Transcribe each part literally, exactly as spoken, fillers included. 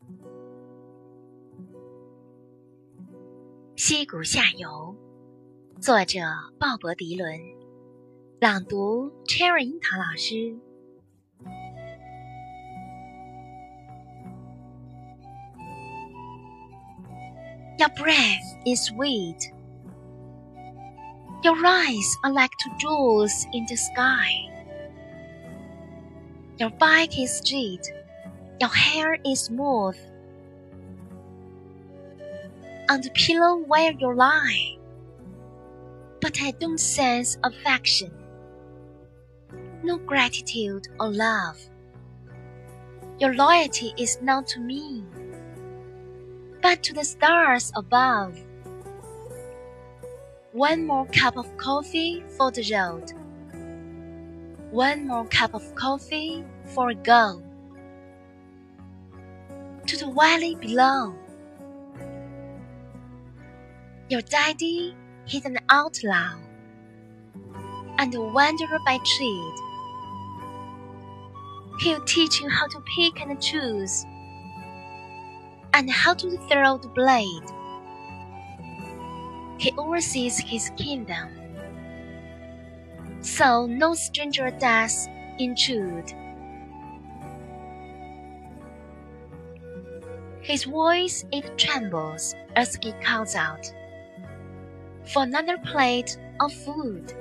溪谷下游，作者鲍勃·迪伦，朗读 Cherry 樱桃老师。Your breath is sweet. Your eyes are like two jewels in the sky. Your back is straight. Your hair is smooth. On the pillow where you lie, but I don't sense affection, no gratitude or love. Your loyalty is not to me, but to the stars above. One more cup of coffee for the road. One more cup of coffee for a go. To the valley below. Your daddy is an outlaw and a wanderer by trade. He'll teach you how to pick and choose, and how to throw the blade. He oversees his kingdom, so no stranger does intrude. His voice it trembles as he calls out for another plate of food.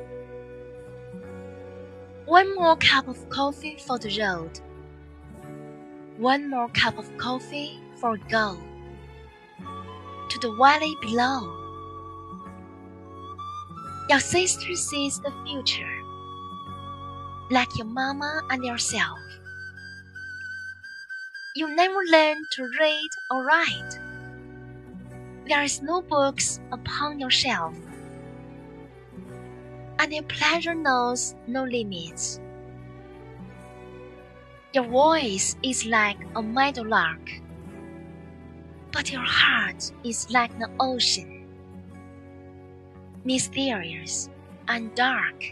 One more cup of coffee for the road. One more cup of coffee for a go. To the valley below. Your sister sees the future, like your mama and yourself. You never learn to read or write. There is no books upon your shelf, and your pleasure knows no limits. Your voice is like a meadowlark, but your heart is like the ocean, mysterious and dark.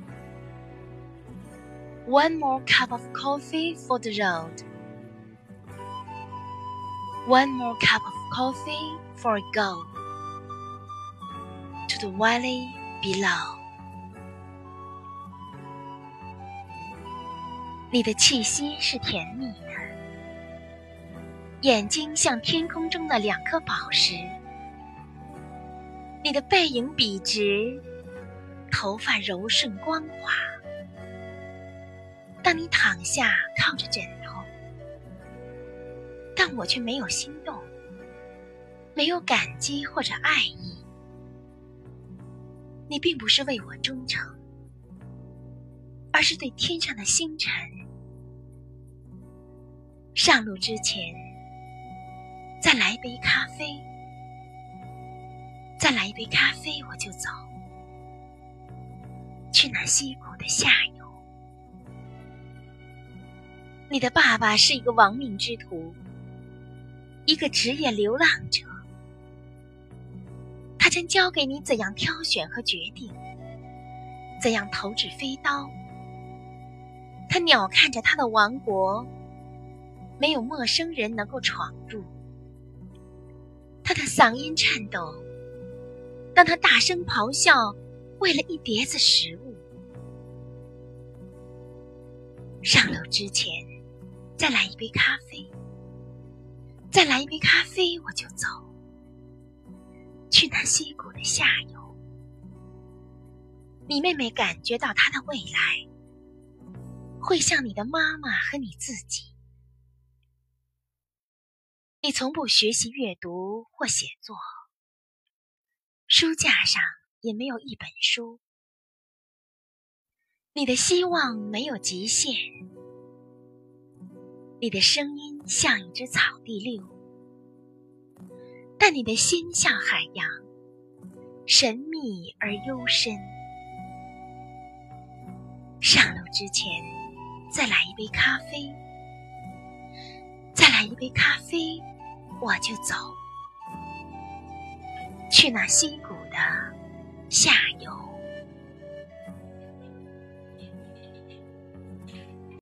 One more cup of coffee for the road. One more cup of coffee for a go. To the valley below. 你的气息是甜蜜的，眼睛像天空中的两颗宝石。你的背影笔直，头发柔顺光滑。当你躺下靠着枕头，但我却没有心动，没有感激或者爱意。你并不是为我忠诚，而是对天上的星辰。上路之前，再来一杯咖啡，再来一杯咖啡我就走，去那溪谷的下游。你的爸爸是一个亡命之徒，一个职业流浪者。他将教给你怎样挑选和决定，怎样投掷飞刀。他鸟瞰着他的王国，没有陌生人能够闯入。他的嗓音颤抖，当他大声咆哮，为了一碟子食物。上楼之前，再来一杯咖啡，再来一杯咖啡我就走，去那溪谷的下游。你妹妹感觉到她的未来会像你的妈妈和你自己。你从不学习阅读或写作，书架上也没有一本书。你的希望没有极限，你的声音像一只草地溜，但你的心像海洋，神秘而幽深。上路之前，再来一杯咖啡，再来一杯咖啡，我就走，去那溪谷的下游。